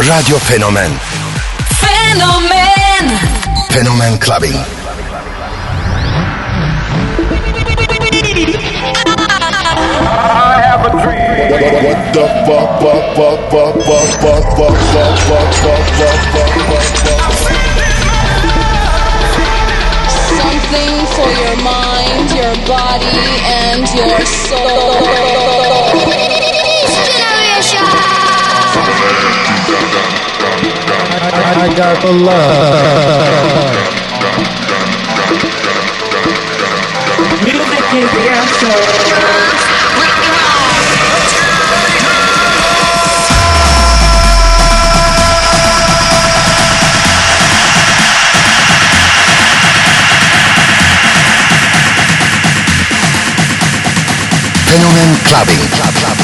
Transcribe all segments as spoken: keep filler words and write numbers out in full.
Radyo Fenomen. Fenomen. Fenomen Clubbing. I have a dream. What the fuck, fuck, fuck, fuck, fuck, fuck, fuck, fuck, fuck, fuck, fuck, fuck, fuck. Something for your mind, your body, and your soul. I, I got the love. Music is the answer. Fenomen Clubbing. Club, club.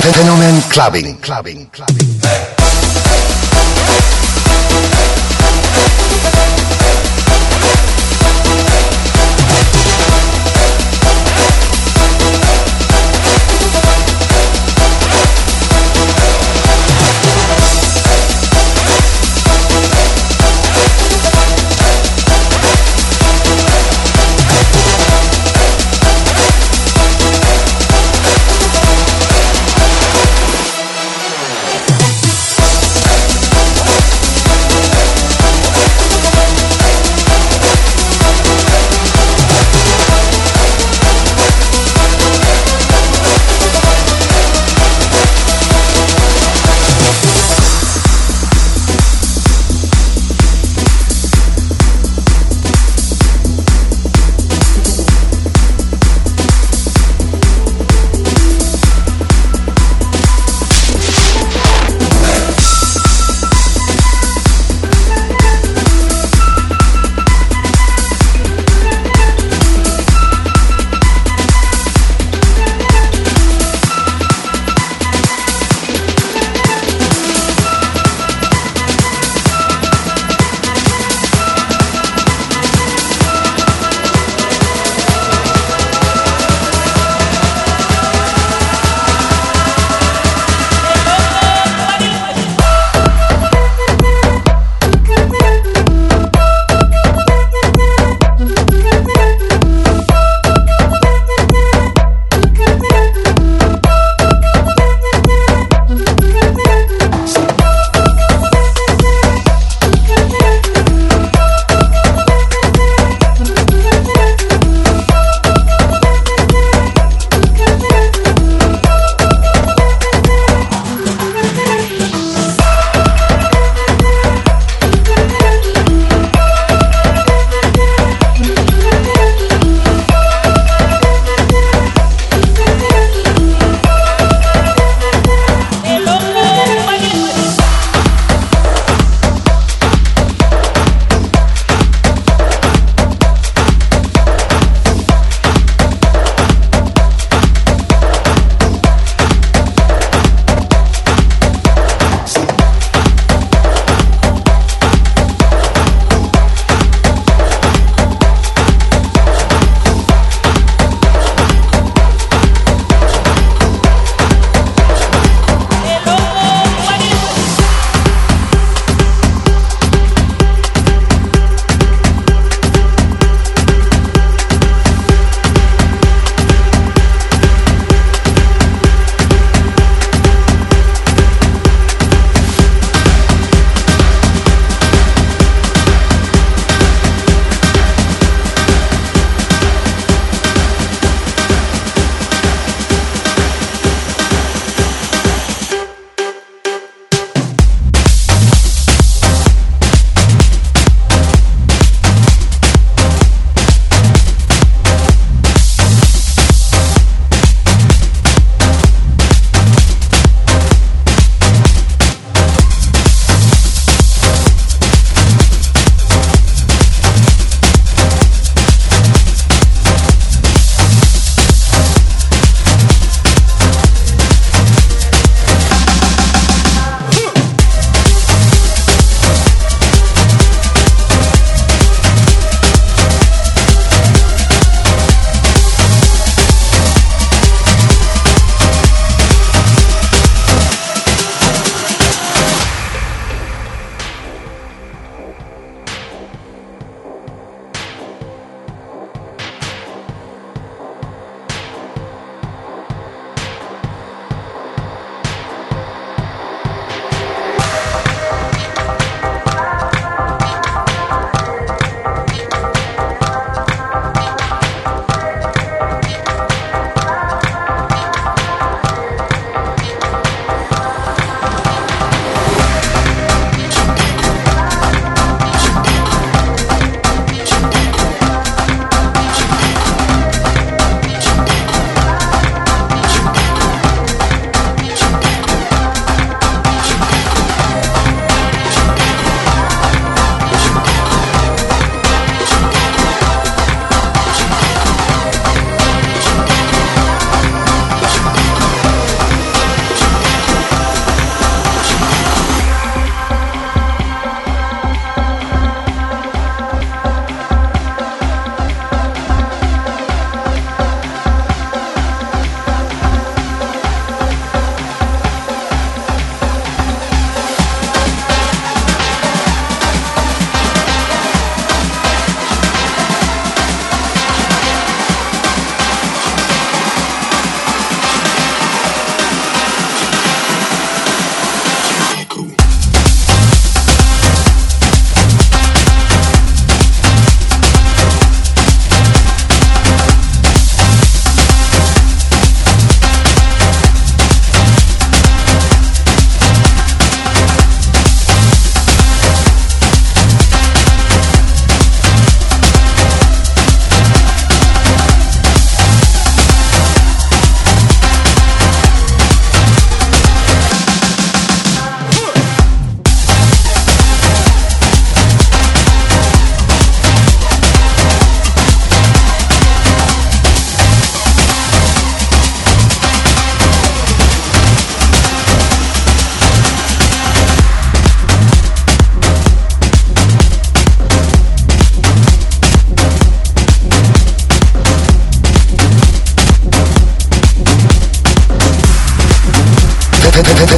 Fenomen Clubbing. Clubbing. Clubbing.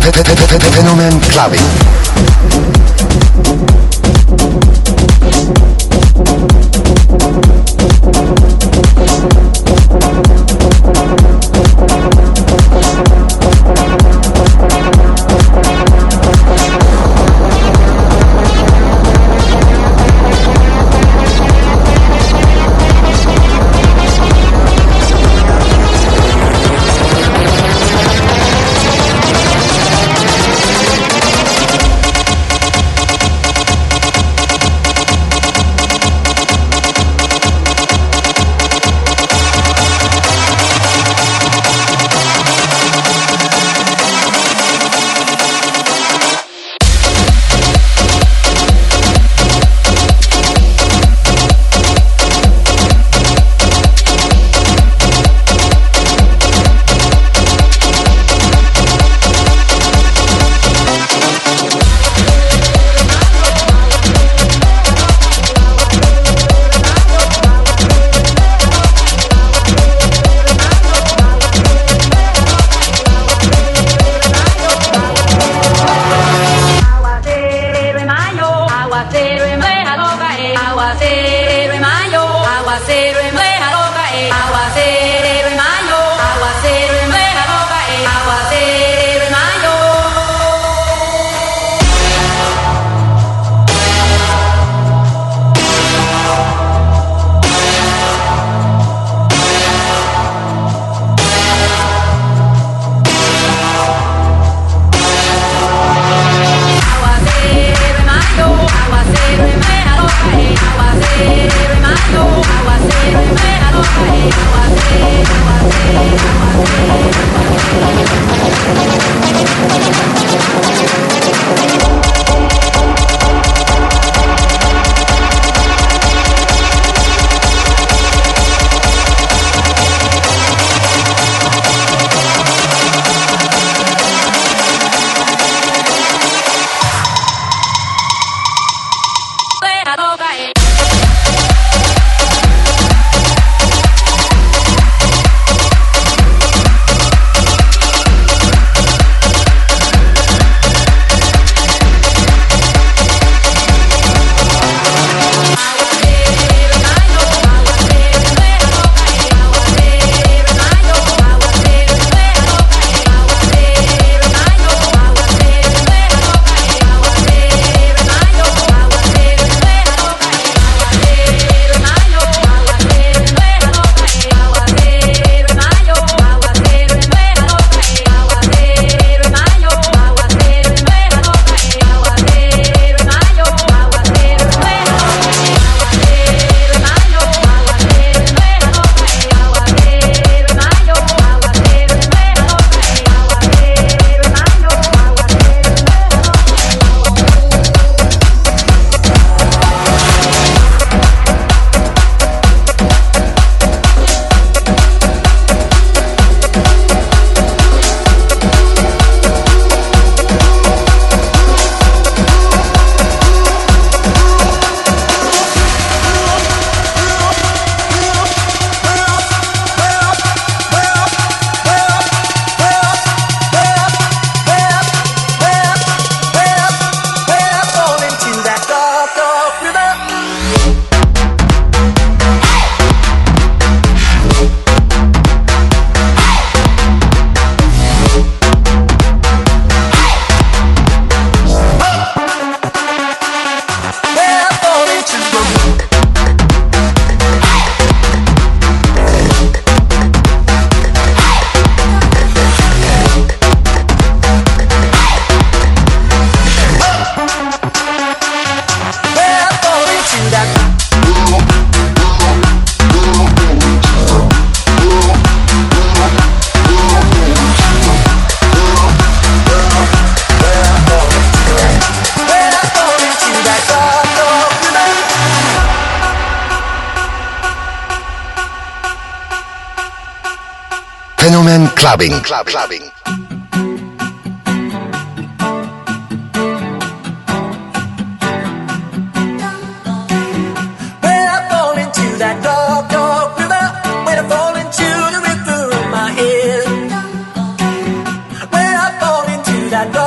Fenomen Clubbing. Fenomen Clubbing. Club, clubbing. When I fall into that dark, dark river, when I fall into the river of my head, when I fall into that dark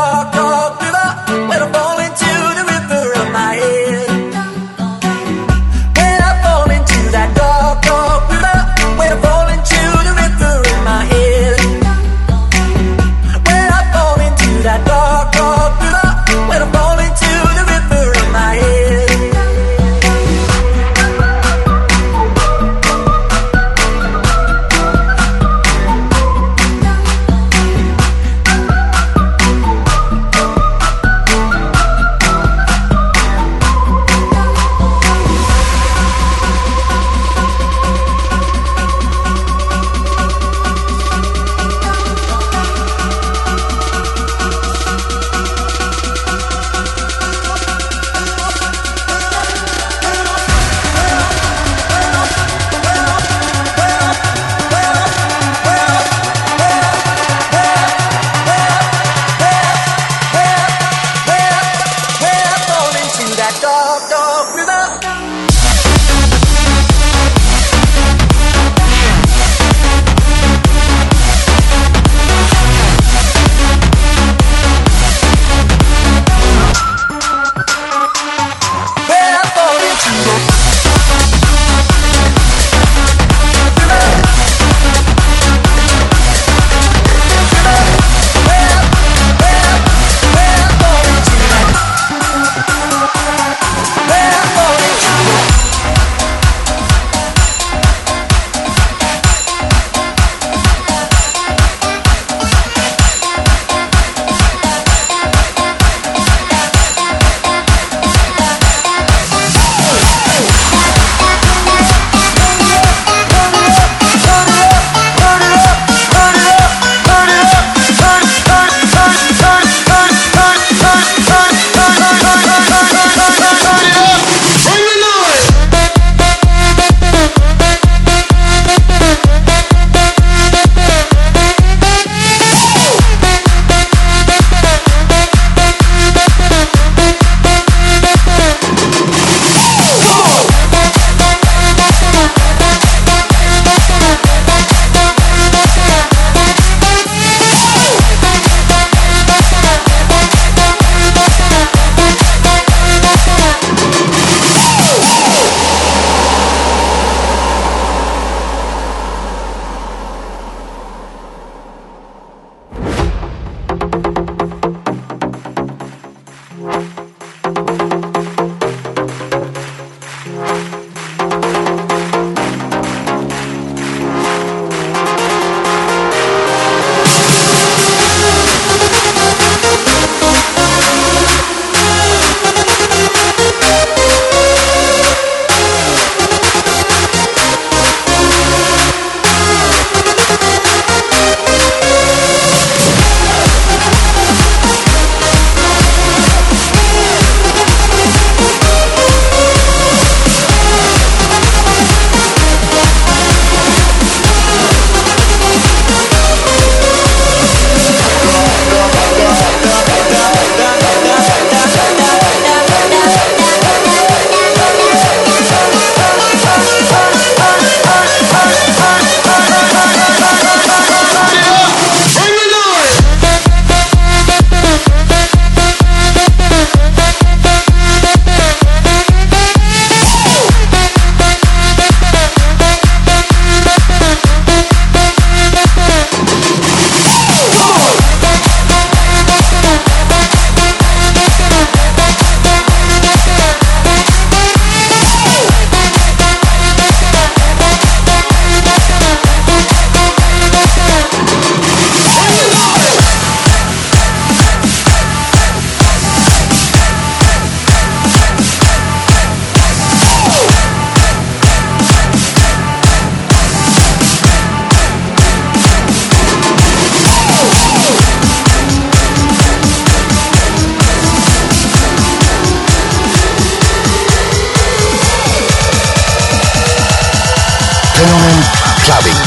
Fenomen Clubbing.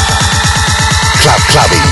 Club Clubbing.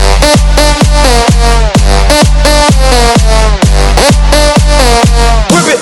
Whip it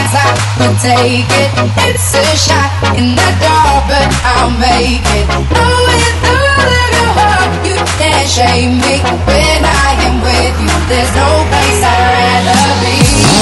guess I will take it. It's a shot in the dark, but I'll make it. Oh, with all of your heart, you can't shame me. When I am with you, there's no place I'd rather be.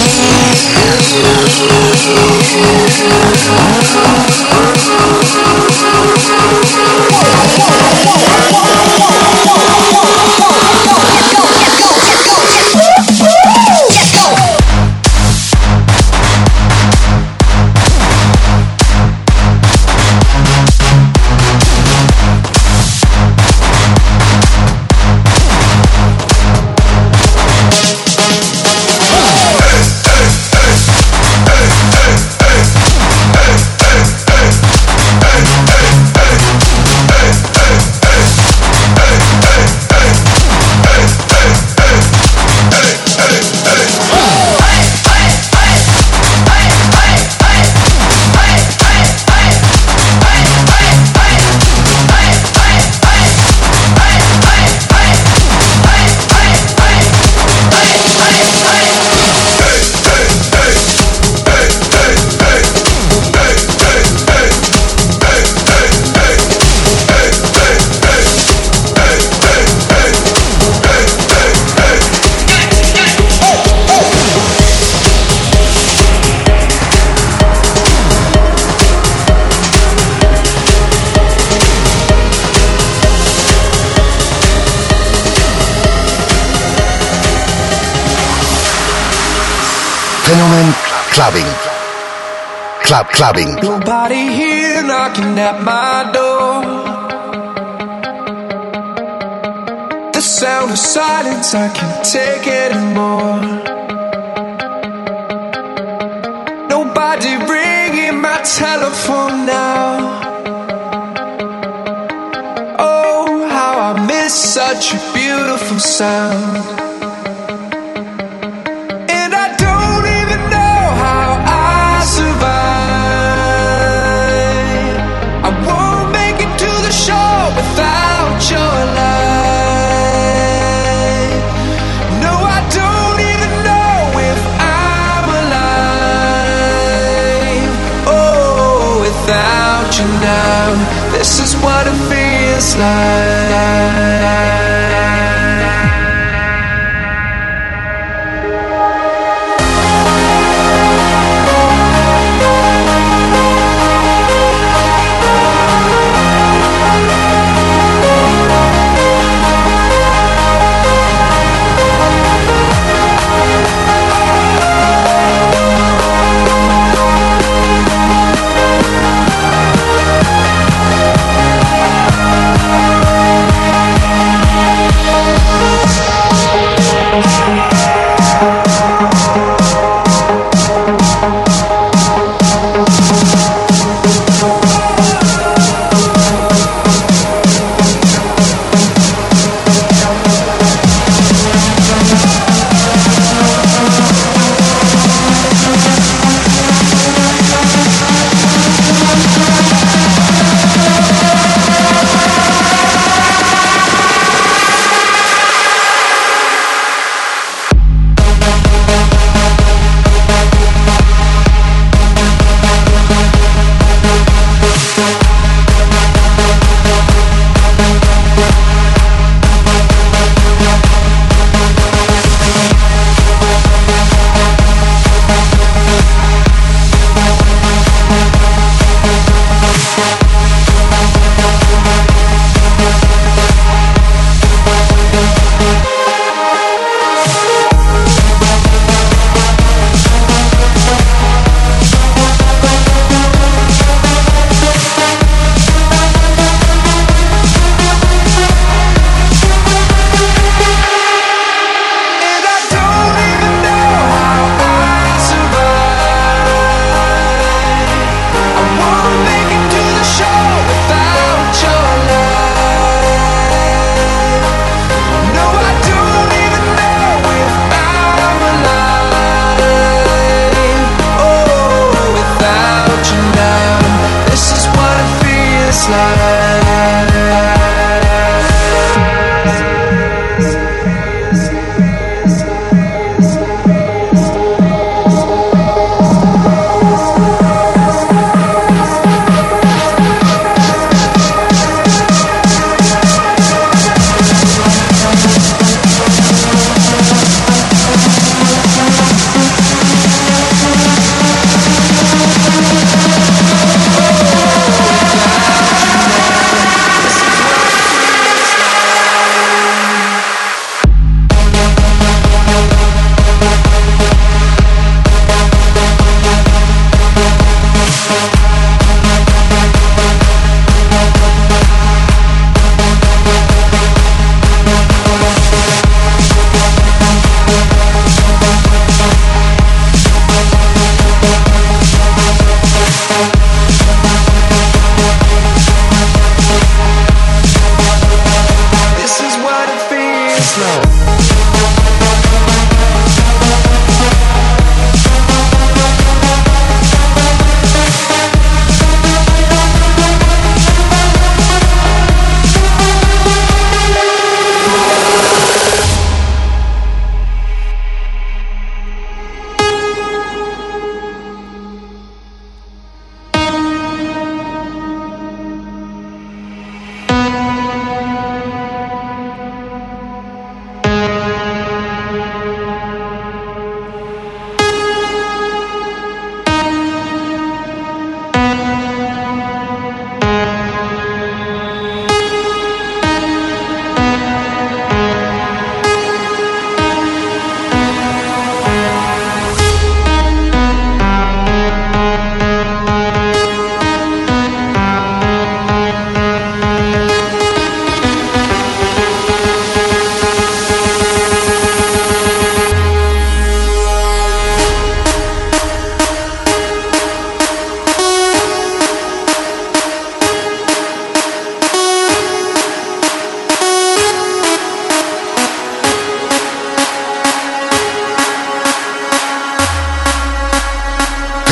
Fenomen Clubbing. Club Clubbing. Nobody here knocking at my door. The sound of silence, I can't take anymore. Nobody ringing my telephone now. Oh, how I miss such a beautiful sound. This is what it feels like.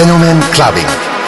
Fenomen Clubbing.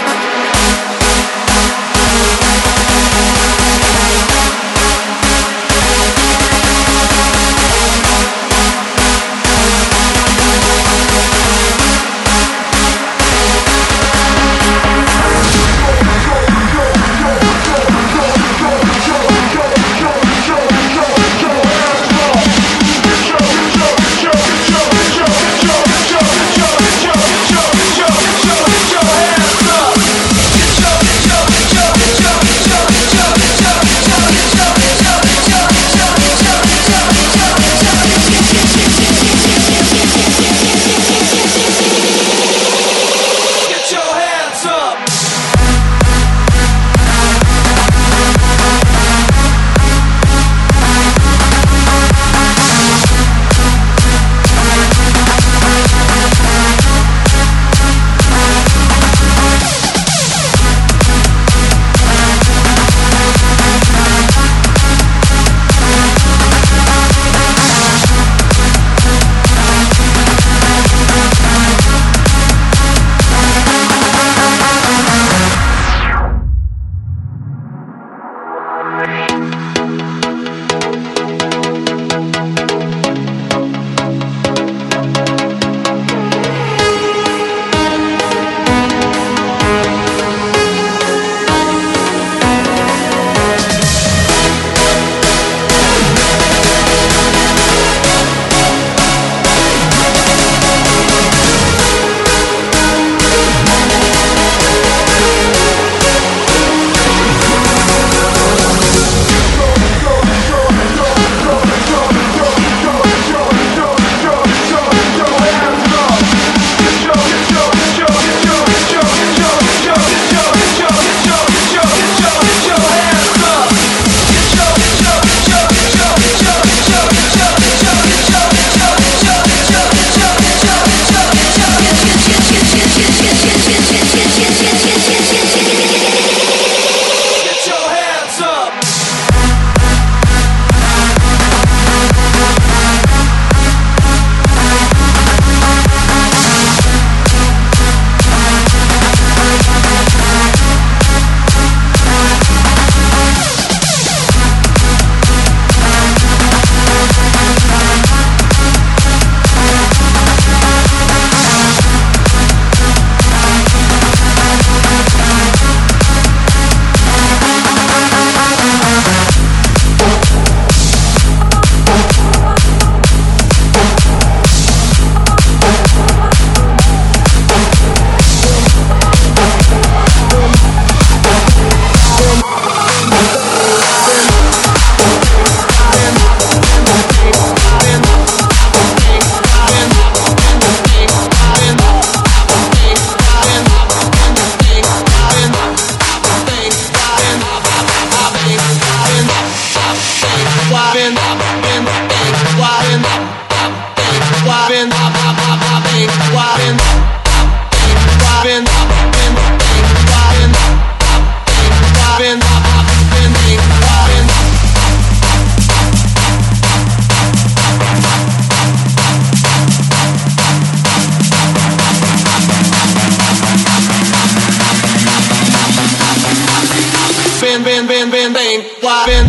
Been, been, been, been, been, why been?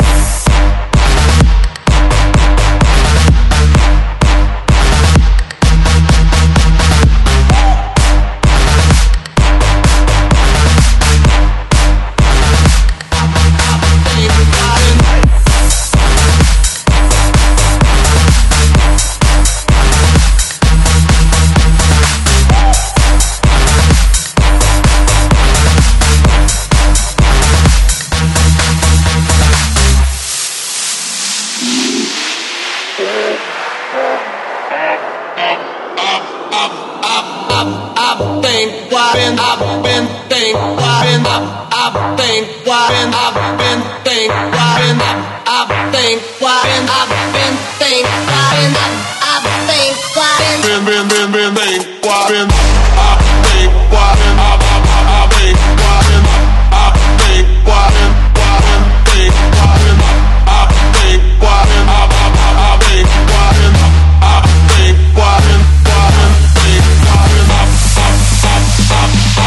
Up,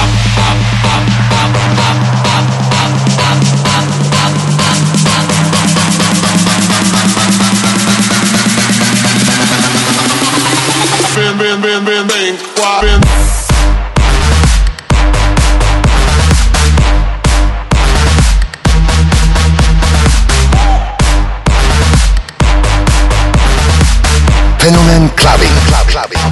wobbin'. Fenomen Clubbing. Club Clubbing.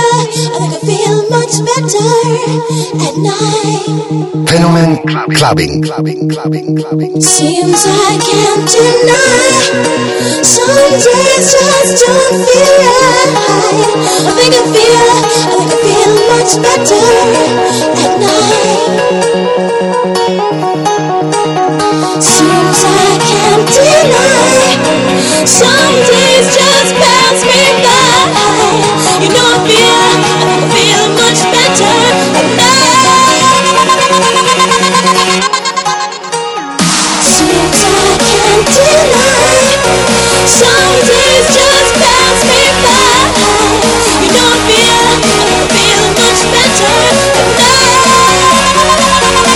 feel, I think I feel much better at night. Fenomen Clubbing. Clubbing, clubbing, clubbing. Seems I can't deny. Some days just don't feel right. I think I feel, I think I feel much better at night. Seems I can't deny. Some days just pass me by. You know I feel, I think I feel much better at night. Seems I can't deny. Some days just pass me by. You know I feel, I think I feel much better at night.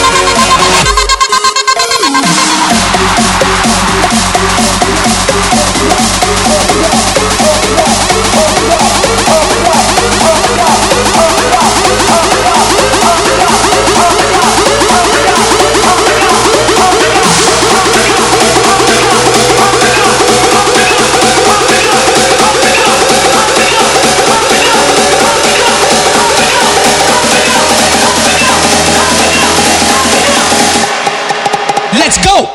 Let's go!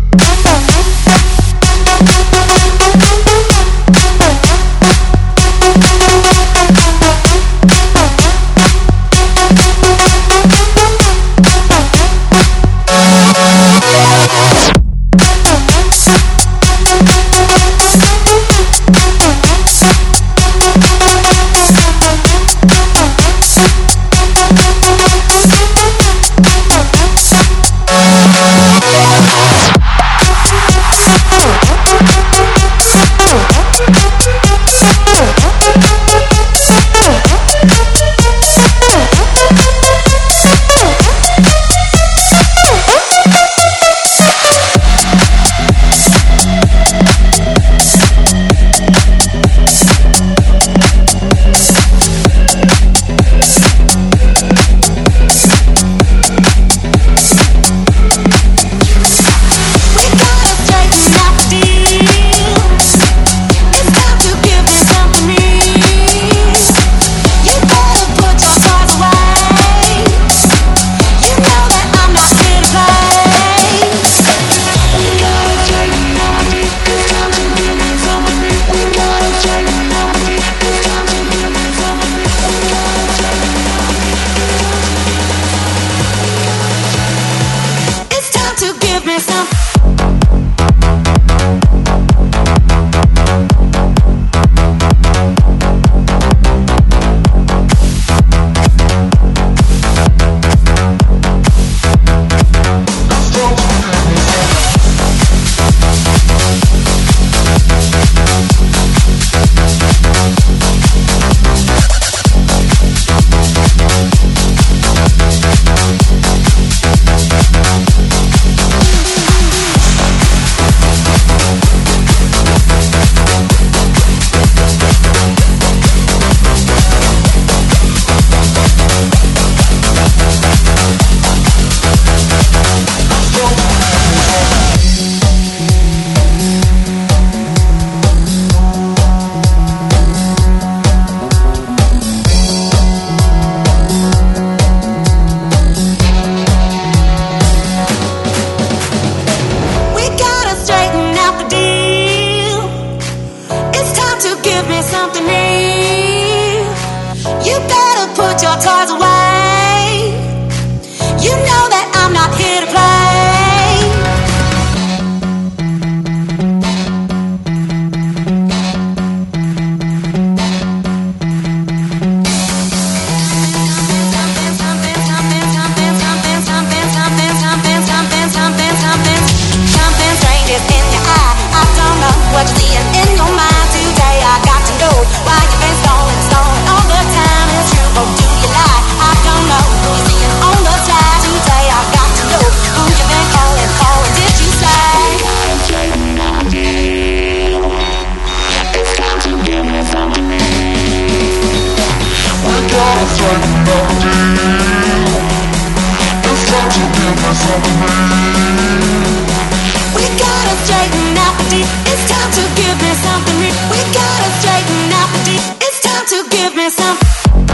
We gotta straighten out the deep. It's time to give me something. We gotta straighten out the deep. It's time to give me something.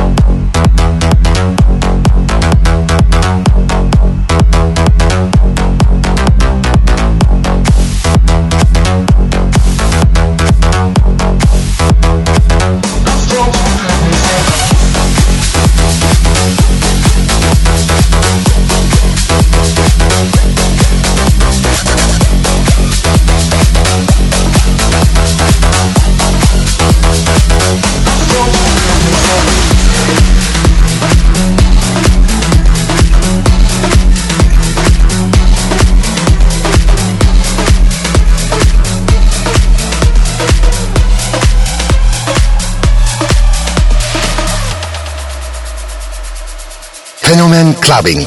Phenomen Clubbing.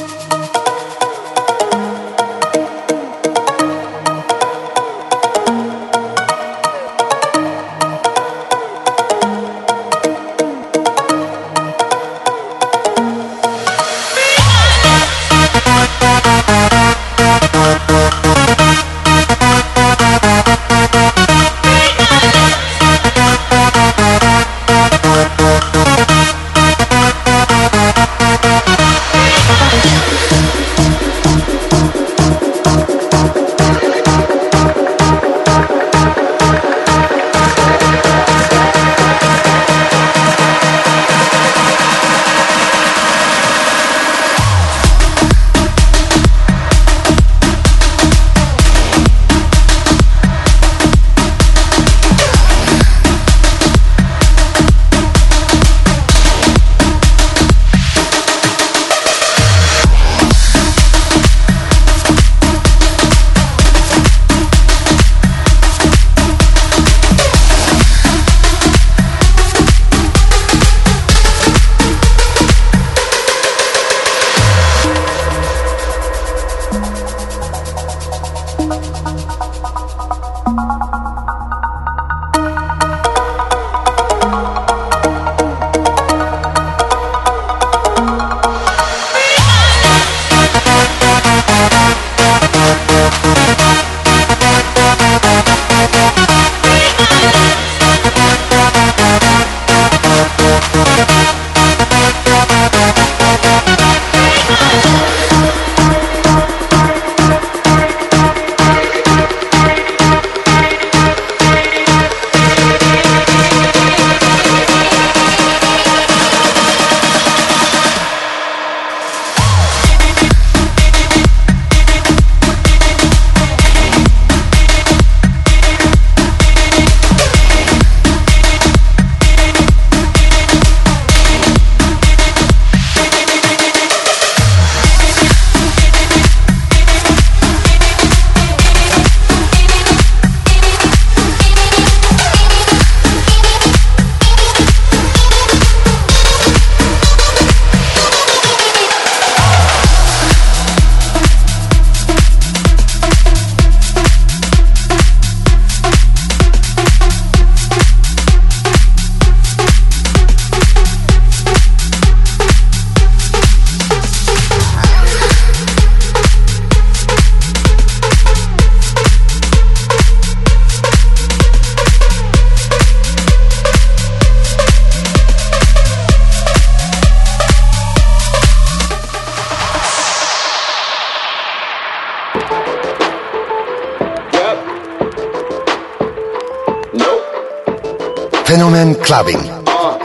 Phenomen Clubbing. Uh.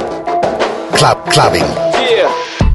Club Clubbing. Yeah.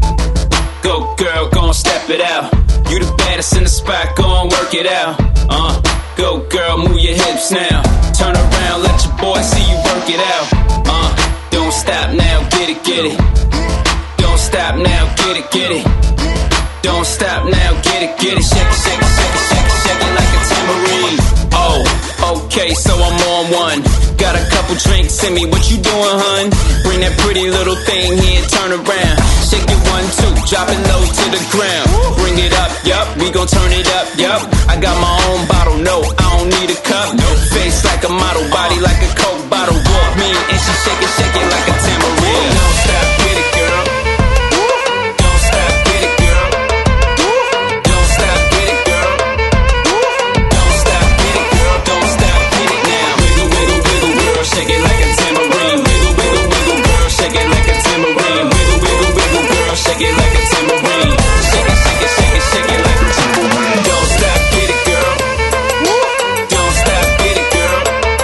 Go girl, gon' step it out. You the baddest in the spot, gon' work it out. Uh. Go girl, move your hips now. Turn around, let your boy see you work it out. Uh. Don't stop now, get it, get it. Don't stop now, get it, get it. Don't stop now, get it, get it. Shake it, shake it, shake it, shake it, shake it like a tambourine. Oh, okay, so I'm on one. Got a couple drinks in me, what you doing, hun? Bring that pretty little thing here, turn around. Shake it one, two, drop it low to the ground. Bring it up, yup, we gon' turn it up, yup. I got my own bottle, no, I don't need a cup. Face like a model, body like a Coke bottle. Walk me and she shake it, shake it like a tambourine. Don't stop, get it, girl. Don't stop, get it, girl. Don't stop, get it, girl. Don't stop, get it, girl. Don't stop, get it now. Wiggle, wiggle, wiggle, girl, shake it like a tambourine. Wiggle, wiggle, wiggle, girl, shake it like a tambourine. Wiggle, wiggle, wiggle, girl, shake it like a tambourine. Shake it, shake it, shake it, shake it like a tambourine. Don't stop, get it, girl. Don't stop, get it, girl.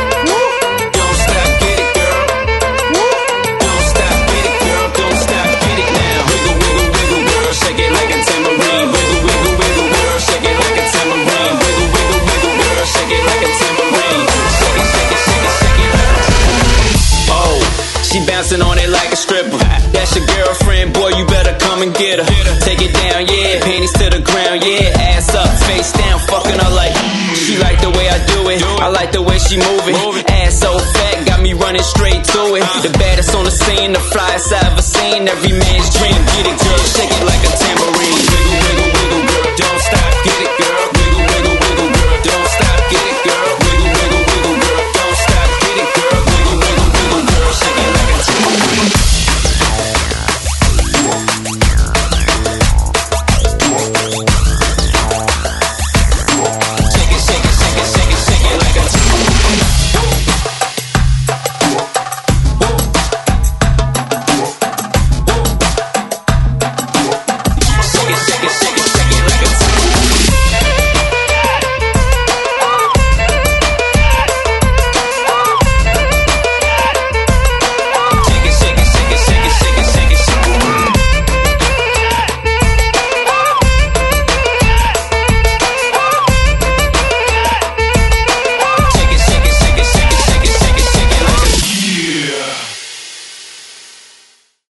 Don't stop, get it, girl. Don't stop, get it, girl. Don't stop, get it now. Wiggle, wiggle, wiggle, girl, shake it like a tambourine. Wiggle, wiggle, wiggle, girl, shake it like a tambourine. Wiggle, wiggle, wiggle, girl, shake it like a tambourine. Shake it, shake it, shake it, shake it like a tambourine. Oh, she bouncing on it like a stripper. That's your girlfriend, boy, you better come and get her. Take it down, yeah, panties to the ground, yeah. Ass up, face down, fucking her like. She like the way I do it, I like the way she move it. Ass so fat, got me running running straight to it. The baddest on the scene, the flyest I ever seen. Every man's dream, get it, girl, shake it like a